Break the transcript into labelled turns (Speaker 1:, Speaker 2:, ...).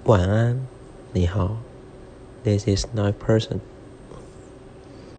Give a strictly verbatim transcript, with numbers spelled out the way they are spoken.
Speaker 1: 晚安，你好。This is night person.